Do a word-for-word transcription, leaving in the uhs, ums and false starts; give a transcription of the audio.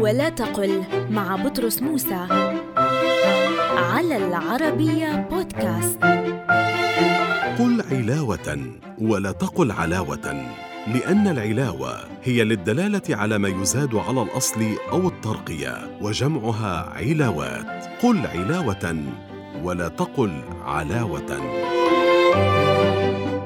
ولا تقل مع بطرس موسى على العربية بودكاست. قل علاوة ولا تقل علاوة، لأن العلاوة هي للدلالة على ما يزاد على الأصل أو الترقية، وجمعها علاوات. قل علاوة ولا تقل علاوة.